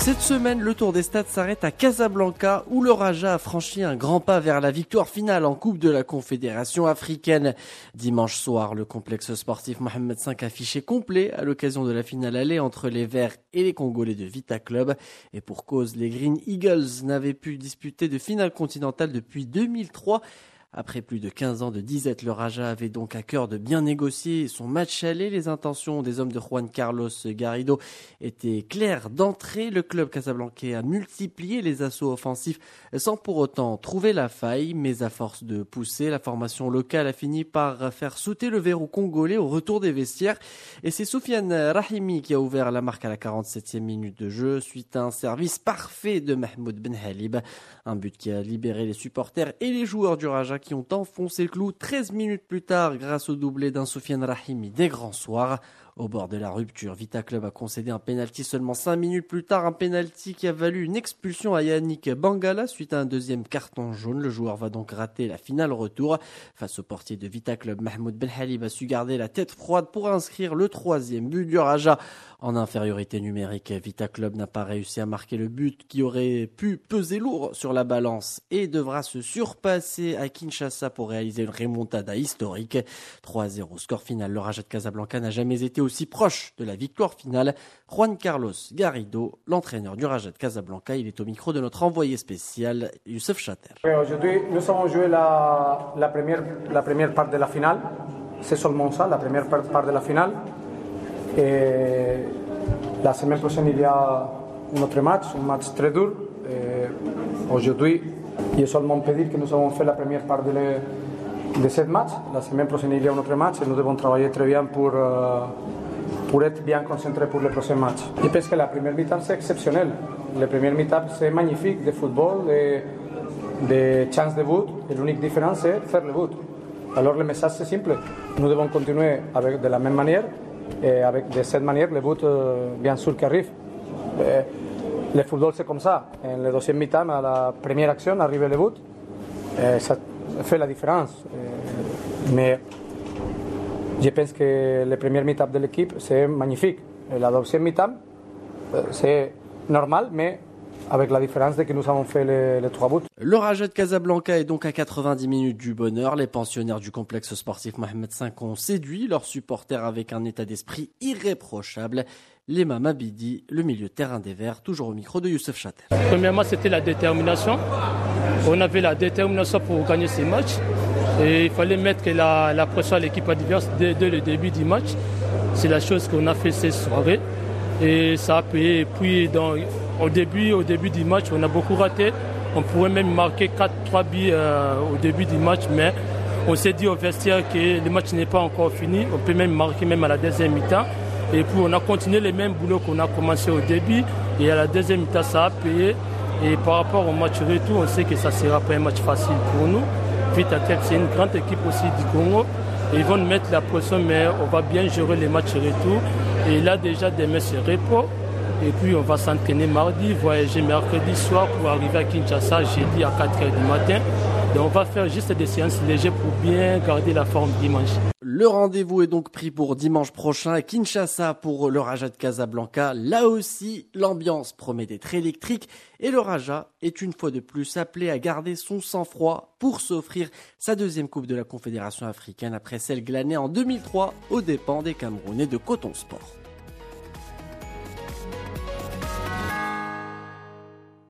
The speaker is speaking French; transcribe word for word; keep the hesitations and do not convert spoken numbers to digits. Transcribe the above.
Cette semaine, le tour des stades s'arrête à Casablanca où le Raja a franchi un grand pas vers la victoire finale en Coupe de la Confédération africaine. Dimanche soir, le complexe sportif Mohamed cinq affiché complet à l'occasion de la finale aller entre les Verts et les Congolais de Vita Club. Et pour cause, les Green Eagles n'avaient pu disputer de finale continentale depuis deux mille trois. Après plus de quinze ans de disette, le Raja avait donc à cœur de bien négocier son match aller. Les intentions des hommes de Juan Carlos Garrido étaient claires d'entrée. Le club casablancais a multiplié les assauts offensifs sans pour autant trouver la faille. Mais à force de pousser, la formation locale a fini par faire sauter le verrou congolais au retour des vestiaires. Et c'est Soufiane Rahimi qui a ouvert la marque à la quarante-septième minute de jeu suite à un service parfait de Mahmoud Benhalib. Un but qui a libéré les supporters et les joueurs du Raja qui ont enfoncé le clou treize minutes plus tard grâce au doublé d'un Soufiane Rahimi des grands soirs. Au bord de la rupture, Vita Club a concédé un pénalty seulement cinq minutes plus tard, un pénalty qui a valu une expulsion à Yannick Bangala suite à un deuxième carton jaune. Le joueur va donc rater la finale retour. Face au portier de Vita Club, Mahmoud Benhalib a su garder la tête froide pour inscrire le troisième but du Raja. En infériorité numérique, Vita Club n'a pas réussi à marquer le but qui aurait pu peser lourd sur la balance et devra se surpasser à Kinshasa pour réaliser une remontada historique. trois zéro score final. Le Raja de Casablanca n'a jamais été aussi proche de la victoire finale. Juan Carlos Garrido, l'entraîneur du Raja de Casablanca, il est au micro de notre envoyé spécial Youssef Chater. Aujourd'hui, nous avons joué la, la, première, la première part de la finale. C'est seulement ça, la première part de la finale. Et la semaine prochaine, il y a un autre match, un match très dur. Et aujourd'hui, je seulement peux dire que nous avons fait la première part de, le, de ce match. La semaine prochaine, il y a un autre match et nous devons travailler très bien pour, euh, pour être bien concentrés pour le prochain match. Je pense que la première mi-temps, c'est exceptionnel. La première mi-temps, c'est magnifique de football, de, de chances de but. Et l'unique différence, c'est faire le but. Alors le message, c'est simple. Nous devons continuer avec, de la même manière. Et avec, de cette manière, le but, euh, bien sûr, qui arrive. Euh, le football, c'est comme ça. En le deuxième mi-temps, à la première action, arrive le but. Euh, ça fait la différence. Euh, mais je pense que la première mi-temps de l'équipe, c'est magnifique. Et la deuxième mi-temps, euh, c'est normal, mais avec la différence de que nous avons fait les, les trois buts. Le Raja de Casablanca est donc à quatre-vingt-dix minutes du bonheur. Les pensionnaires du complexe sportif Mohamed cinq ont séduit leurs supporters avec un état d'esprit irréprochable. Lema Mabidi, le milieu de terrain des Verts, toujours au micro de Youssef Chater. Premièrement, c'était la détermination. On avait la détermination pour gagner ces matchs. Et il fallait mettre la, la pression à l'équipe adverse dès, dès le début du match. C'est la chose qu'on a fait cette soirée. Et ça a payé. Et puis, dans, au, début, au début du match, on a beaucoup raté. On pourrait même marquer quatre trois buts euh, au début du match, mais on s'est dit au vestiaire que le match n'est pas encore fini. On peut même marquer même à la deuxième mi-temps. Et puis, on a continué les mêmes boulots qu'on a commencé au début. Et à la deuxième mi-temps, ça a payé. Et par rapport au match retour, on sait que ça ne sera pas un match facile pour nous. Vita Club, c'est une grande équipe aussi du Congo. Ils vont nous mettre la pression, mais on va bien gérer les matchs retour. Et là, déjà, demain, c'est repos. Et puis, on va s'entraîner mardi, voyager mercredi soir pour arriver à Kinshasa jeudi à quatre heures du matin. Donc, on va faire juste des séances légères pour bien garder la forme dimanche. Le rendez-vous est donc pris pour dimanche prochain à Kinshasa pour le Raja de Casablanca. Là aussi, l'ambiance promet d'être électrique et le Raja est une fois de plus appelé à garder son sang-froid pour s'offrir sa deuxième Coupe de la Confédération africaine après celle glanée en deux mille trois aux dépens des Camerounais de Coton Sport.